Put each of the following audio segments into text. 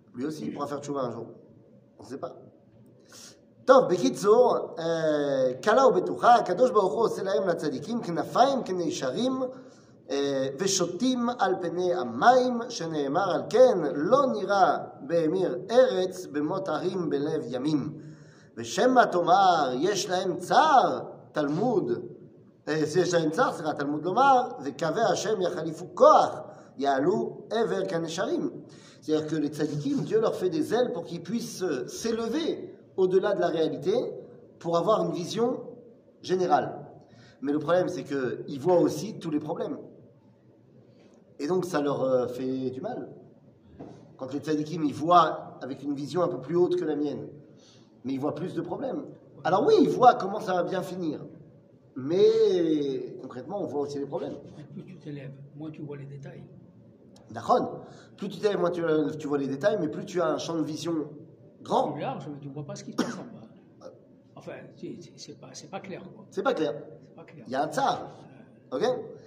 Lui aussi, il pourra faire tchouva un jour. On ne sait pas. טוב, בקיצור, קלה ובטוחה, הקדוש ברוך הוא עושה להם לצדיקים כנפיים כנשרים ושוטים על פני המים, שנאמר על כן, לא נראה בהמיר ארץ במות הרים בלב ימים. ושמא תאמר, יש להם צער, תלמוד, יש להם צער, סליחה, תלמוד לומר, וקווי השם יחליפו כוח, יעלו עבר כנשרים. C'est-à-dire que les tzadikim, Dieu leur fait des ailes pour qu'ils puissent s'élever au-delà de la réalité pour avoir une vision générale. Mais le problème, c'est qu'ils voient aussi tous les problèmes. Et donc, ça leur fait du mal. Quand les tzadikim, ils voient avec une vision un peu plus haute que la mienne, mais ils voient plus de problèmes. Alors oui, ils voient comment ça va bien finir. Mais concrètement, on voit aussi les problèmes. Plus tu t'élèves, moins tu vois les détails. D'accord. Plus tu t'élèves, moins tu vois les détails, mais plus tu as un champ de vision grand. Plus large, mais tu ne vois pas ce qui se passe en bas. Enfin, c'est pas clair, quoi. C'est pas clair. C'est pas clair. Il y a un tsar. Ok?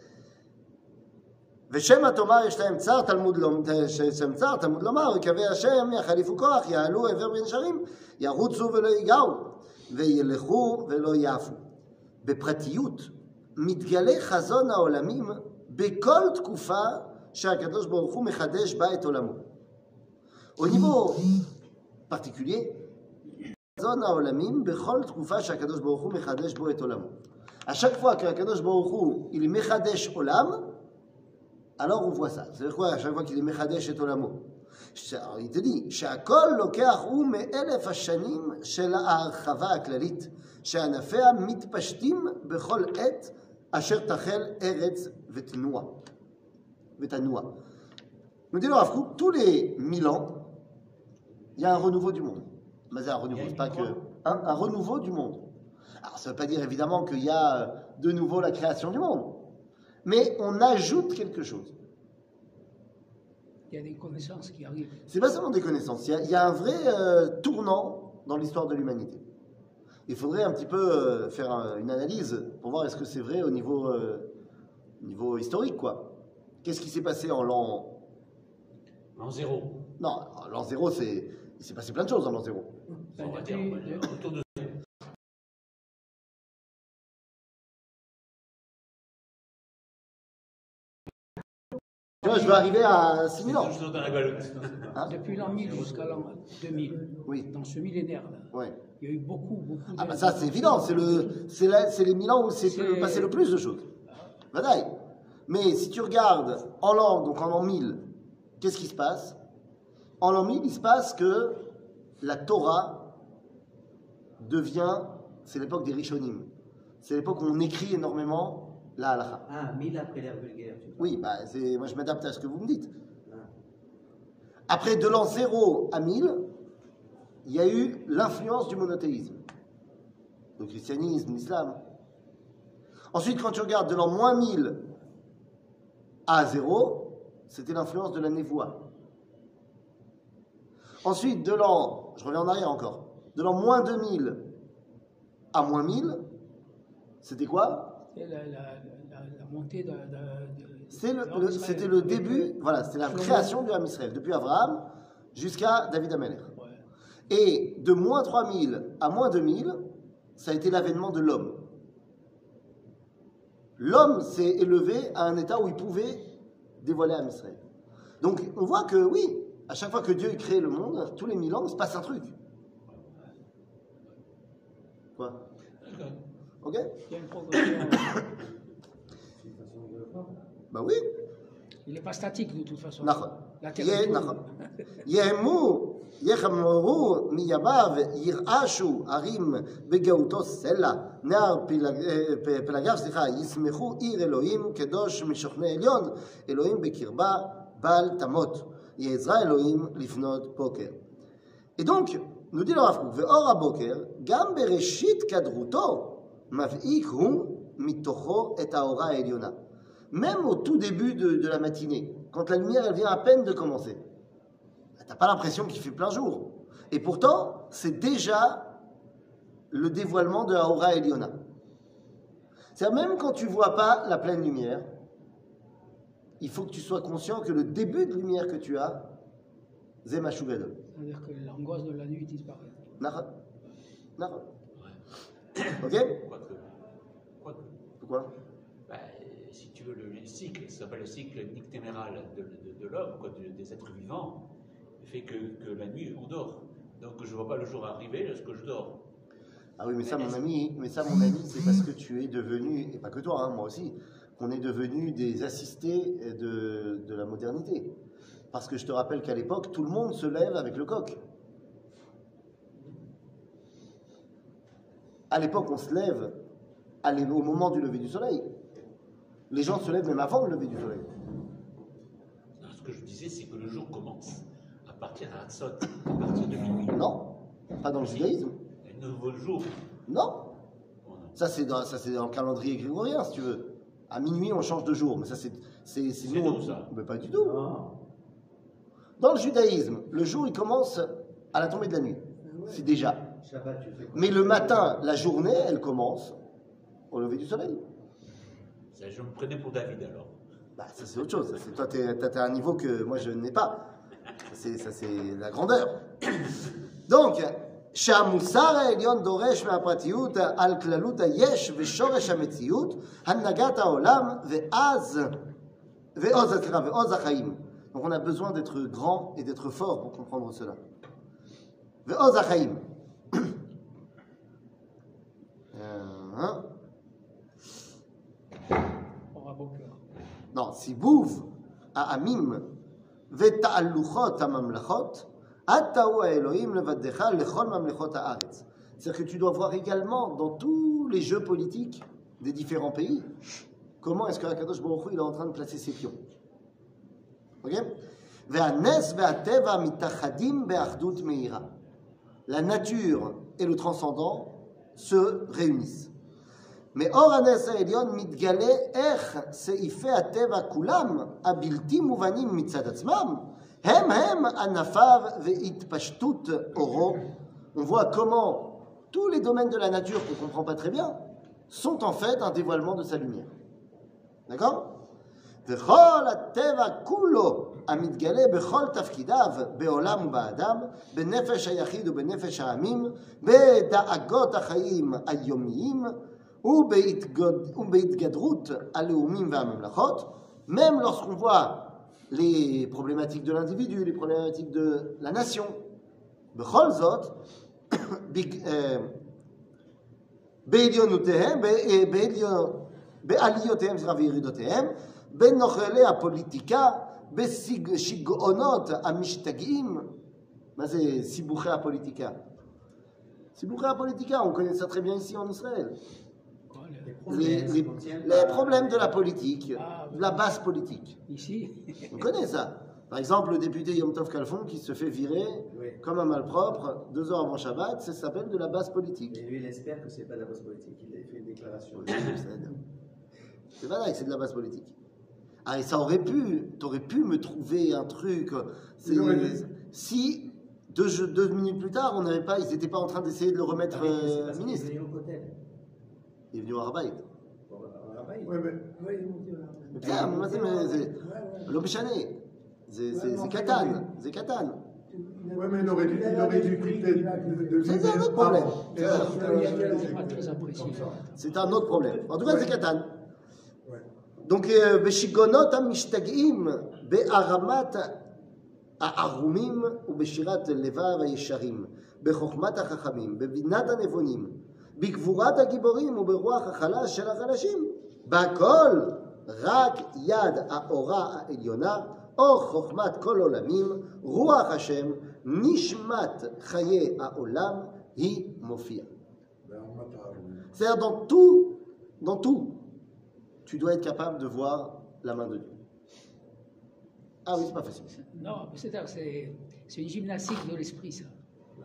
ושמא תאמר יש להם צער תלמוד לומר וקווי השם יחליפו כוח יעלו עבר בנשרים ירוצו ולא ייגעו וילכו ולא יעפו. בפרטיות מתגלה חזון העולמים בכל תקופה שהקדוש ברוך הוא מחדש בה את עולמו. Au niveau particulier, חזון העולמים בכל תקופה שהקדוש ברוך הוא מחדש בו את עולמו. À chaque fois qu'Akadosh Baruch Hu il mechadesh olam, alors on voit ça. C'est-à-dire quoi? À chaque fois qu'il est mechadesh et olamo, il te dit שהכל לוקח הוא מאלף השנים של ההרחבה הכללית, שענפיה מתפשטים בכל עת אשר תחל ארץ ותנוע. Nous dit le Rav Kook, tous les 1000 ans, il y a un renouveau du monde. Mais c'est un renouveau, c'est pas que un renouveau du monde. Alors ça ne veut pas dire évidemment qu'il y a de nouveau la création du monde, mais on ajoute quelque chose. Il y a des connaissances qui arrivent. C'est pas seulement des connaissances, il y a un vrai tournant dans l'histoire de l'humanité. Il faudrait un petit peu faire une analyse pour voir est-ce que c'est vrai au niveau historique, quoi. Qu'est-ce qui s'est passé en l'an... L'an zéro. Non, l'an zéro, il s'est passé plein de choses en l'an zéro. On va dire autour de... Tu vois, je veux arriver à 6000 ans. Hein? Depuis l'an 1000 jusqu'à l'an 2000, oui. Dans ce millénaire-là, ouais. Il y a eu beaucoup Ah bah ça c'est évident, c'est les 1000 ans où c'est passé le plus de choses. Vadaï. Mais si tu regardes en l'an, donc en l'an 1000, qu'est-ce qui se passe? En l'an 1000, il se passe que la Torah devient, c'est l'époque des Rishonim. C'est l'époque où on écrit énormément la halakha. Ah, 1000 après l'ère vulgaire. Oui, bah moi je m'adapte à ce que vous me dites. Après, de l'an 0 à 1000, il y a eu l'influence du monothéisme. Le christianisme, l'islam. Ensuite, quand tu regardes de l'an moins 1000 à 0, c'était l'influence de la névoie. Ensuite, de l'an, je reviens en arrière encore, de l'an moins 2000 à moins 1000, c'était quoi? C'était la montée de c'était le début, voilà, c'était la création du Ham Israël, depuis Abraham jusqu'à David Amelech. Ouais. Et de moins 3000 à moins 2000, ça a été l'avènement de l'homme. L'homme s'est élevé à un état où il pouvait dévoiler Ham Israël. Donc on voit que oui, à chaque fois que Dieu crée le monde, tous les 1000 ans, il se passe un truc. Quoi? Ok? Il y a une progression. Bah oui. Il n'est pas statique de toute façon. La terre יחמרו מימיו ירעשו הרים בגאותו סלע נער פלגיו ישמחו עיר אלוהים קדוש משוכני עליון אלוהים בקרבה בל תמות יעזרה אלוהים לפנות בוקר. Et donc, nous dit le Rav Kook, ואור הבוקר גם בראשית קדרותו מבעיק הוא מתוכו את האורה העליונה. Même au tout début de la matinée, quand la lumière elle vient à peine de commencer, t'as pas l'impression qu'il fait plein jour. Et pourtant, c'est déjà le dévoilement de Haora Eliona. C'est-à-dire, même quand tu vois pas la pleine lumière, il faut que tu sois conscient que le début de lumière que tu as, זה משהו גדול. C'est-à-dire que l'angoisse de la nuit disparaît. נכון, נכון. Ok? Pourquoi? Bah, si tu veux, le cycle, ça s'appelle le cycle nictéméral de l'homme, des êtres vivants, fait que la nuit, on dort. Donc je ne vois pas le jour arriver lorsque je dors. Ah oui, mais ça, mon ami, c'est parce que tu es devenu, et pas que toi, hein, moi aussi, qu'on est devenu des assistés de la modernité. Parce que je te rappelle qu'à l'époque, tout le monde se lève avec le coq. À l'époque, on se lève au moment du lever du soleil. Les gens se lèvent même avant le lever du soleil. Non, ce que je disais, c'est que le jour commence à partir de Hatzot, à partir de minuit. Non, pas dans le judaïsme. Un nouveau jour. Non. Ça, c'est dans le calendrier grégorien, si tu veux. À minuit, on change de jour. Mais ça, c'est nous, ça. Mais pas du tout. Dans le judaïsme, le jour, il commence à la tombée de la nuit. C'est déjà. Mais le matin, la journée, elle commence au lever du soleil. Ça, je me prenais pour David, alors. Bah, ça, c'est autre chose. Ça, toi, t'as un niveau que moi, je n'ai pas. Ça, c'est la grandeur. Donc, שהמוסר העליון דורש מהפרטיות על כללות היש ושורש המציאות, הנהגת העולם ועוז החיים. Donc on a besoin d'être grand et d'être fort pour comprendre cela. ועוז החיים. Non, סיבוב העמים ותהלוכות הממלכות, c'est-à-dire que tu dois voir également dans tous les jeux politiques des différents pays comment est-ce que Akadosh Baruch Hu, il est en train de placer ses pions. Ok? La nature et le transcendant se réunissent. Mais or הנס העליון מתגלה איך סעיפי הטבע כולם הבלתי מובנים מצד עצמם הם ענפיו והתפשטות אורו. On voit comment tous les domaines de la nature qu'on ne comprend pas très bien sont en fait un dévoilement de sa lumière. D'accord? וכל הטבע כולו המתגלה בכל תפקידיו בעולם ובאדם, בנפש היחיד ובנפש העמים, בדאגות החיים היומיים ובהתגדרות הלאומים והממלכות, même lorsqu'on voit les problématiques de l'individu, les problématiques de la nation. בכל זאת, בעליותיהם וירידותיהם, בין נוכלי הפוליטיקה, בשיגעונות המשתגעים. מה זה סיבוכי הפוליטיקה? סיבוכי הפוליטיקה, on connaît ça très bien ici en Israël. Les problèmes de la politique, de la base politique. Ici. On connaît ça. Par exemple, le député Yom Tov Kalfon qui se fait virer comme un malpropre 2 heures avant Shabbat, ça s'appelle de la base politique. Et lui, il espère que c'est pas de la base politique. Il a fait une déclaration. C'est pas là que c'est de la base politique. Ah, et ça aurait pu, t'aurais pu me trouver un truc. Si 2 minutes plus tard, ils n'étaient pas en train d'essayer de le remettre ministre. Il est venu au Harbaït. Oui, mais. לא משנה, זה קטן. Oui, mais il aurait dû quitter. C'est un autre problème. C'est un autre problème. En tout cas, c'est קטן. Donc, בשיגעונות המשתגעים, בהרמת הערומים ובשירת לבב הישרים, בחוכמת החכמים, בבינת הנבונים, בגבורת הגיבורים וברוח החלש של החלשים, בהכל רק יד האורה העליונה, אור חוכמת כל עולמים, רוח השם, נשמת חיי העולם, היא מופיעה. C'est-à-dire dans tout, tu dois être capable de voir la main de Dieu. Ah oui, c'est pas facile. Non, c'est une gymnastique de l'esprit, ça.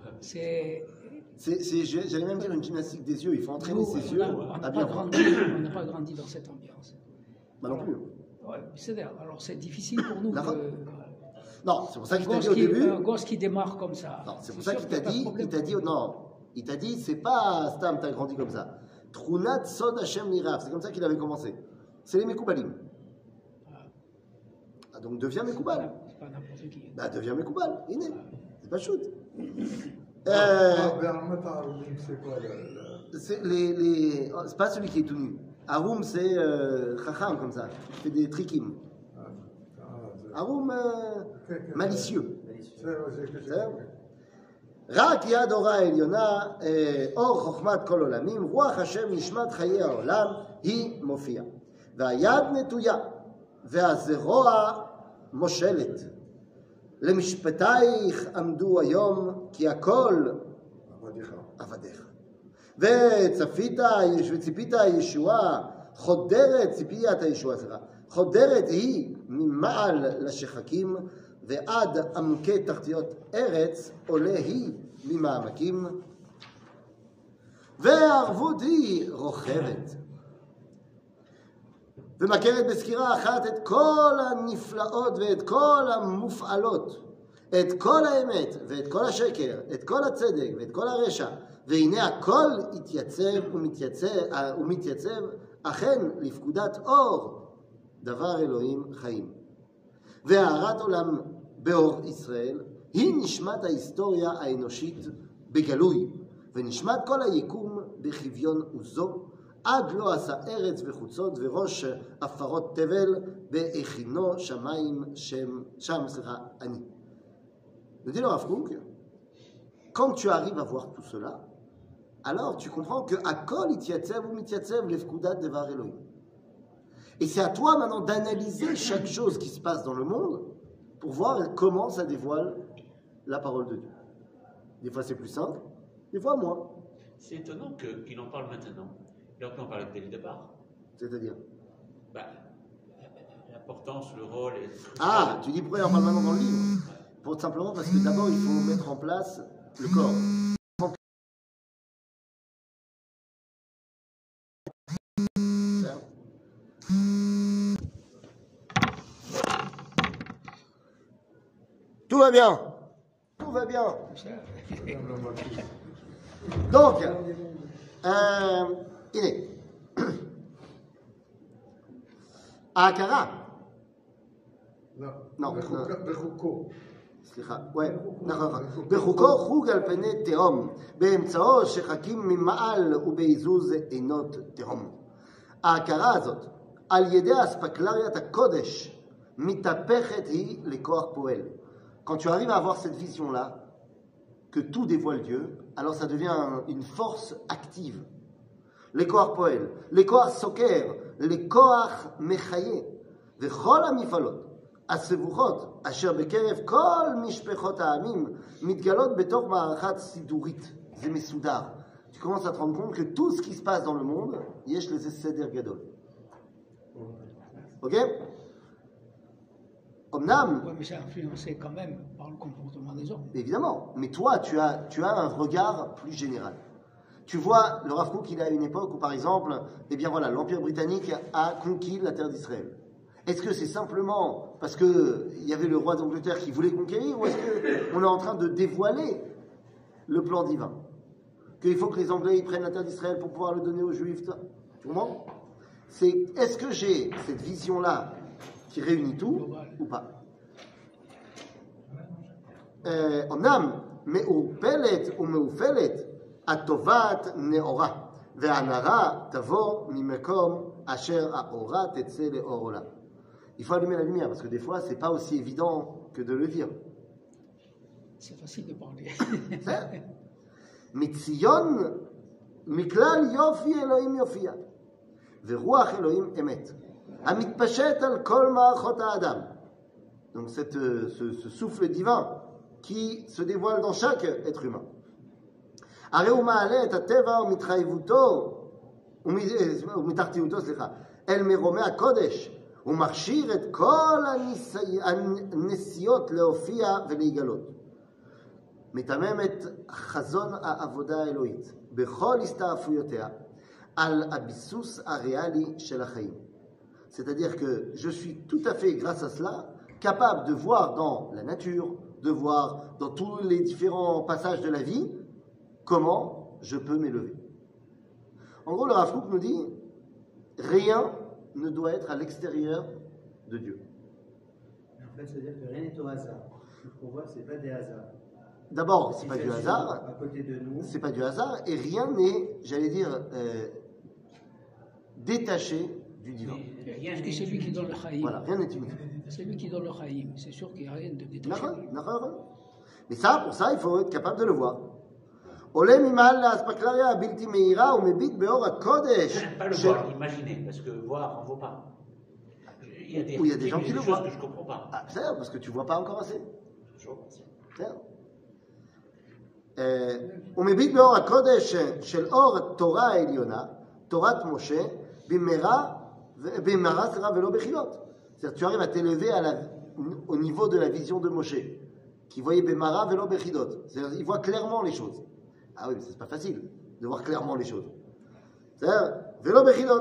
J'allais même dire une gymnastique des yeux. Il faut entraîner ses yeux à bien voir. On n'a pas grandi dans cette ambiance. Bah non plus. Ouais, alors c'est difficile pour nous. Non, c'est pour ça qu'il t'a dit au début. Un gosse qui démarre comme ça. Non, c'est pour ça qu'il t'a dit, c'est pas Stam, t'as grandi comme ça. Trunat Sod Hashem Nirav, c'est comme ça qu'il avait commencé. C'est les Mekoubalim. Ah, donc deviens Mekoubal. c'est pas n'importe qui. Bah, deviens Mekoubal, iné. C'est pas shoot. C'est quoi C'est pas celui qui est tout nu. Haroum, c'est Chacham, comme ça. Il fait des trikim. Haroum, malicieux. רק יד אורה העליונה, אור חוכמת כל עולמים, רוח השם נשמת חיי העולם, היא מופיעה. והיד נטויה, והזרוע מושלת. למשפטייך עמדו היום, כי הכל עבדיך. וציפית הישועה, חודרת, ציפיית הישועה, סליחה, חודרת היא ממעל לשחקים, ועד עמקי תחתיות ארץ עולה היא ממעמקים, והערבות היא רוכבת. ומכרת בסקירה אחת את כל הנפלאות ואת כל המופעלות, את כל האמת ואת כל השקר, את כל הצדק ואת כל הרשע, והנה הכל התייצב ומתייצב אכן לפקודת אור, דבר אלוהים חיים. והארת עולם באור ישראל היא נשמת ההיסטוריה האנושית בגלוי, ונשמת כל היקום בחביון עוזו, עד לא עשה ארץ וחוצות וראש עפרות תבל בהכינו שמיים אני. Nous dit le Rav Kook, quand tu arrives à voir tout cela, alors tu comprends que Akol Itiyatzev ou Mitiyatzev lefkudat devar Elohim. Et c'est à toi maintenant d'analyser chaque chose qui se passe dans le monde pour voir comment ça dévoile la parole de Dieu. Des fois c'est plus simple, des fois moins. C'est étonnant qu'il en parle maintenant. Il aurait pu en parler dès le départ. C'est-à-dire l'importance, le rôle. Ah, tu dis pourquoi il en parle maintenant dans le livre? Pour simplement parce que d'abord il faut mettre en place le corps. Tout va bien. Tout va bien. Donc, il est. ההכרה. לא. בחוקו. סליחה, נכון. בחוקו חוג על פני תהום, באמצעו שחקים ממעל ובעיזוז עינות תהום. ההכרה הזאת, על ידי אספקלריית הקודש, מתהפכת היא לכוח פועל. Quand tu arrives à avoir cette vision-là, que tout dévoile Dieu, alors ça devient une force active. Les koach poel, les koach soker, les koach mechaye, וכל המפעלות, הסבוכות, אשר בקרב כל משפחות העמים, מתגלות בתוך מערכת סידורית. זה מסודר. Tu commences à te rendre compte que tout ce qui se passe dans le monde, יש לזה סדר גדול. Ok? Omnam. Oui, mais c'est influencé quand même par le comportement des hommes. Évidemment, mais toi, tu as un regard plus général. Tu vois, le Rav Kook, il est à une époque où, par exemple, eh bien voilà, l'Empire britannique a conquis la terre d'Israël. Est-ce que c'est simplement parce qu'il y avait le roi d'Angleterre qui voulait conquérir, ou est-ce qu'on est en train de dévoiler le plan divin? Qu'il faut que les Anglais ils prennent la terre d'Israël pour pouvoir le donner aux Juifs? Tu comprends? Est-ce que j'ai cette vision-là qui réunit tout ou pas? אמנם מעורפלת ומעופלת הטובת נאורה והנרה תבוא ממקום אשר האורה תצא לאור עולם. Il faut allumer la lumière parce que des fois c'est pas aussi évident que de le dire. C'est facile de parler. מציון מכלל יופי אלוהים יופיע ורוח אלוהים אמת המתפשט על כל מערכות האדם. Donc ce souffle divin qui se dévoile dans chaque être humain. הרי הוא מעלה את הטבע ומתחתיותו, אל מרומי הקודש, הוא מכשיר את כל הנסיעות להופיע ולהיגלות. מתמם את חזון העבודה האלוהית בכל הסתעפויותיה על הביסוס הריאלי של החיים. C'est-à-dire que je suis tout à fait, grâce à cela, capable de voir dans la nature, de voir dans tous les différents passages de la vie, comment je peux m'élever. En gros, le Rav Kook nous dit, rien ne doit être à l'extérieur de Dieu. fait, c'est-à-dire que rien n'est au hasard. Tout ce qu'on voit, c'est pas des hasards. D'abord, c'est pas du hasard. À côté de nous. C'est pas du hasard et rien n'est, j'allais dire, détaché du divin. Parce que c'est lui qui donne le chaïm. Voilà, rien n'est inutile. C'est lui qui donne le chaïm. C'est sûr qu'il n'y a rien de détaché. Mais ça, pour ça, il faut être capable de le voir. עולה ממעל לאספקלריה הבלתי מהירה ומביט באור הקודש. Pas le voir, imaginer, parce que voir, on ne voit pas. Il y a des gens qui le voient. Que je ne comprends pas. Ah, c'est parce que tu ne vois pas encore assez. ומביט באור הקודש של אור תורה העליונה, תורת משה, במהרה ולא בחילות. C'est-à-dire tu arrives à t'élever au niveau de la vision de Moshe, qui voyait במהרה ולא בחילות. C'est-à-dire il voit clairement les choses. Ah oui, mais c'est pas facile de voir clairement les choses. C'est-à-dire ולא בחילות.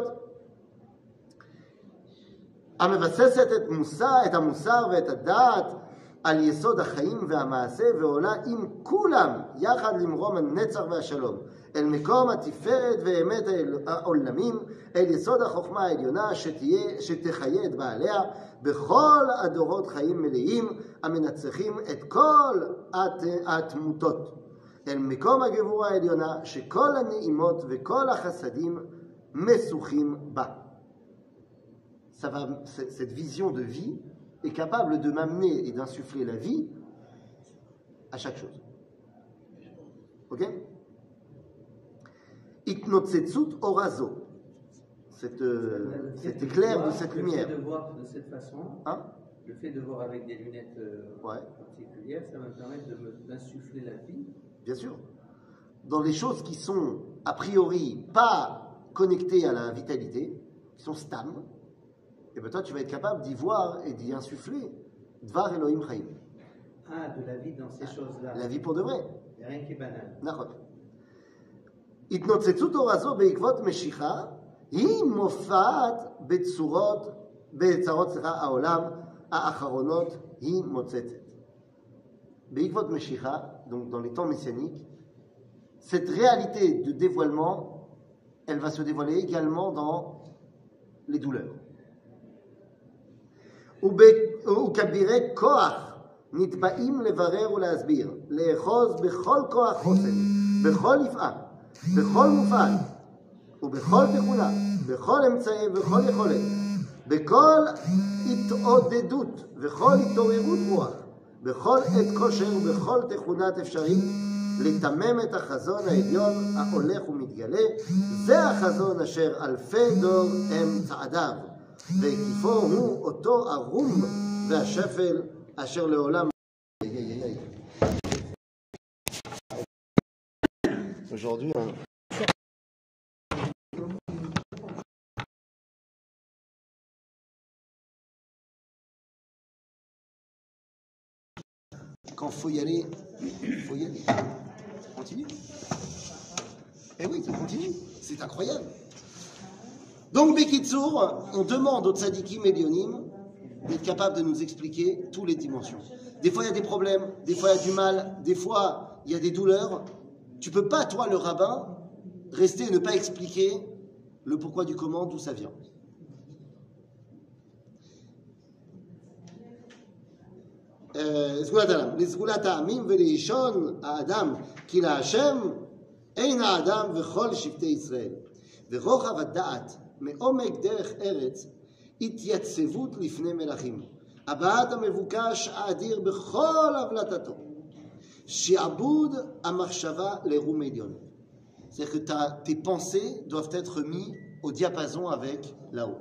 המבססת את המוסר ואת הדעת על יסוד החיים והמעשה ועולה עם כולם יחד למרום הנצח והשלום אל מקום התפארת ואמת העולמים אל יסוד החוכמה העליונה שתחיה את בעליה בכל הדורות חיים מלאים המנצחים את כל התמותות אל מקום הגבורה העליונה שכל הנעימות וכל החסדים מסוכים בה. Cette vision de vie est capable de m'amener et d'insuffler la vie à chaque chose. Ok? Itnotsetsut orazo. Cet éclair de cette lumière. Le fait de voir de cette façon, hein? Le fait de voir avec des lunettes particulières, ça va me permettre d'insuffler la vie. Bien sûr. Dans les choses qui sont a priori pas connectées à la vitalité, qui sont stam, et bien toi, tu vas être capable d'y voir et d'y insuffler Dvar Elohim Chaim. Ah, de la vie dans ces choses-là. La vie pour de vrai. Il n'y a rien qui est banal. נכון. התנוצצות אור הזו בעקבות משיכה היא מופעת בצרות העולם האחרונות היא מוצצת. בעקבות משיכה, donc dans les temps messianiques, cette réalité de dévoilement, elle va se dévoiler également dans les douleurs. וכבירי כוח נתבעים לברר ולהסביר, לאחוז בכל כוח חוסן, בכל יפעה, בכל מופעל, ובכל תכונה, בכל אמצעי ובכל יכולת, בכל התעודדות וכל התעוררות רוח, בכל עת כושר ובכל תכונת אפשרית, לתמם את החזון העליון ההולך ומתגלה, זה החזון אשר אלפי דור הם צעדיו. והקיפו הוא אותו ערום והשפל אשר לעולם. Aujourd'hui, quand faut y aller, continue. Eh oui, ça continue, c'est incroyable. Donc, Bekitsour, on demande aux tzadikim et lionim d'être capables de nous expliquer toutes les dimensions. Des fois, il y a des problèmes, des fois, il y a du mal, des fois, il y a des douleurs. Tu ne peux pas, toi, le rabbin, rester et ne pas expliquer le pourquoi du comment, d'où ça vient. לסגולת העמים ולאישון האדם כי להשם אין האדם וכל שבטי ישראל ורוחב הדעת מעומק דרך ארץ התייצבות לפני מלכים הבאת המבוקש האדיר בכל הבלטתו שעבוד המחשבה לרום עליון. C'est-à-dire que tes pensées doivent être mis au diapason avec là-haut.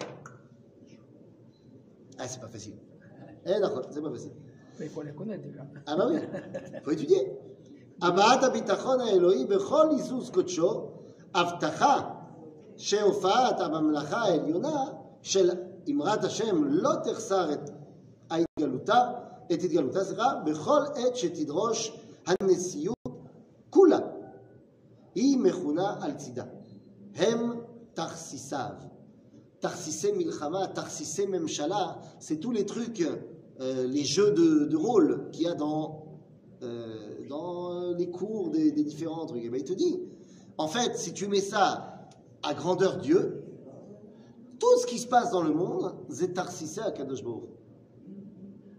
Ah, c'est pas facile. D'accord, c'est pas facile. Mais il faut les connaître déjà. Ah bah oui, il faut étudier. הבאת הביטחון האלוהי בכל היסוס קודשו, הבטחה שהופעת הממלכה העליונה של אמרת השם לא תחסר את התגלותה, בכל עת שתדרוש הנשיאות כולה. היא מכונה על צידה. הם תכסיסיו. תכסיסי מלחמה, תכסיסי ממשלה, c'est tous les trucs, les jeux de rôle qu'il y a dans les cours des différents trucs. Et bien il te dit, en fait, si tu mets ça à grandeur Dieu, tout ce qui se passe dans le monde, c'est Tarsissé à Kadosh Baruch.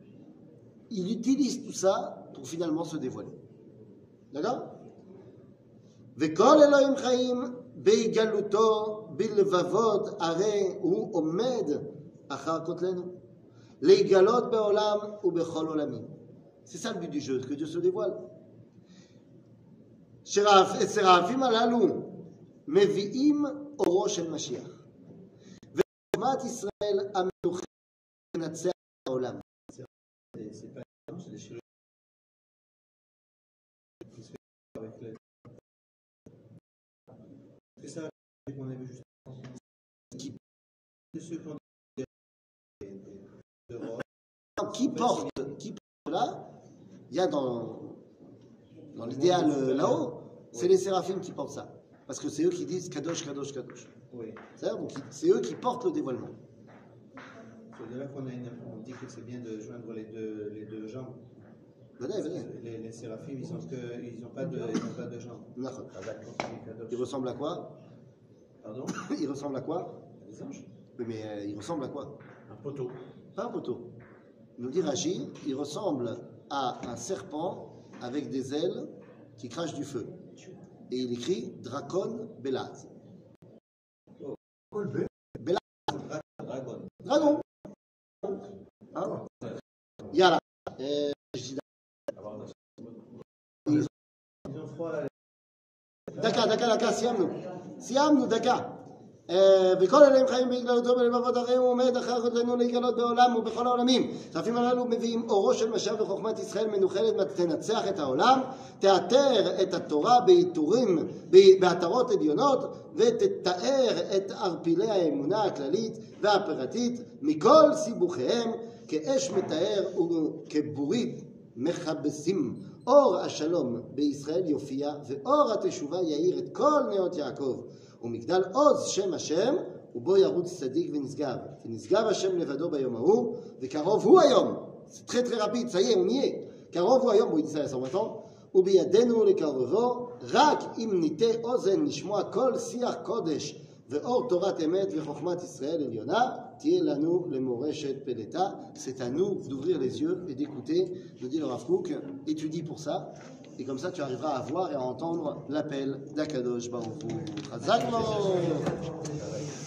il utilise tout ça pour finalement se dévoiler. D'accord? Vekol Elohim Chaim Beigaluto Bilvavot Are Hu Omed Achar Kotlenu Leigalot Beolam ou Bechol Olamim. C'est ça le but du jeu, que Dieu se dévoile. Et Séraphim Alalu Mevi'im Oro Shel Mashiach. Ve'chokhmat Israël Amenuchet Natseach Olam. C'est pas c'est des chirurgiens qui se fait avec les... C'est ça qu'on a vu juste avant. De ceux qui ont qui porte là, il y a dans l'idéal là-haut, c'est les séraphim qui portent ça. Parce que c'est eux qui disent Kadosh, Kadosh, Kadosh. Oui. C'est eux qui portent le dévoilement. C'est de là qu'on on dit que c'est bien de joindre les deux jambes. Venez. Les séraphim, ils n'ont pas de jambes. Ils ressemblent à quoi? Pardon? Ils ressemblent à quoi? Des anges. Oui, mais ils ressemblent à quoi? Un poteau. Pas un poteau. Nous dit Rashi, il ressemble à un serpent avec des ailes qui crachent du feu. Et il écrit Dracon Belaz. Belaz. Dragon. Hein? Yala. Ils ont froid là. דקה, סיימנו, דקה. וכל אליהם חיים בגללותו בלבבות אחרים, הוא עומד אחר כותלנו להתגלות בעולם ובכל העולמים. הסרפים הללו מביאים אורו של משיח וחוכמת ישראל מנוחלת, תנצח את העולם, תאתר את התורה בעטרות עליונות, ותתאר את ערפילי האמונה הכללית והפרטית מכל סיבוכיהם, כאש מתאר וכבורית מכבסים. אור השלום בישראל יופיע, ואור התשובה יאיר את כל נאות יעקב. ומגדל עוז שם השם, ובו ירוץ צדיק ונשגב. כי נשגב השם לבדו ביום ההוא, וקרוב הוא היום. C'est très très rapide, ça y est, on y est. קרוב הוא היום, הוא יצא לסמרתו, ובידינו לקרבו, רק אם ניתה אוזן לשמוע כל שיח קודש, ואור תורת אמת וחוכמת ישראל עליונה, תהיה לנו למורשת פלטה. C'est à nous d'ouvrir les yeux et d'écouter, nous dit le Rav Kook, étudie pour ça, et comme ça tu arriveras à voir et à entendre l'appel d'Akadosh Baruch Hu. Chazak Mo.